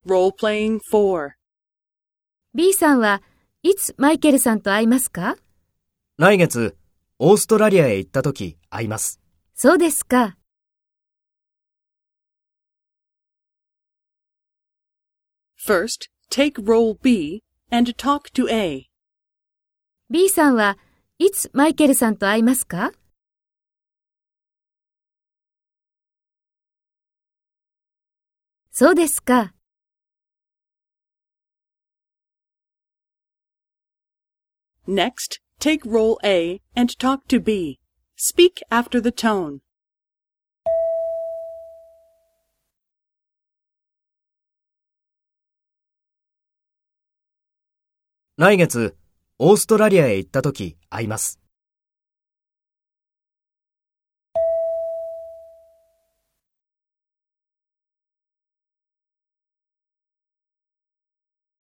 Role-playing 4. B さんはいつマイケルさんと会いますか？ 来月、オーストラリアへ行った時会います。 そうですか。 First, take role B and talk to A. B さんはいつマイケルさんと会いますか？そうですか。 Next, take role A and talk to B. Speak after the tone. 来月、オーストラリアへ行った時会います。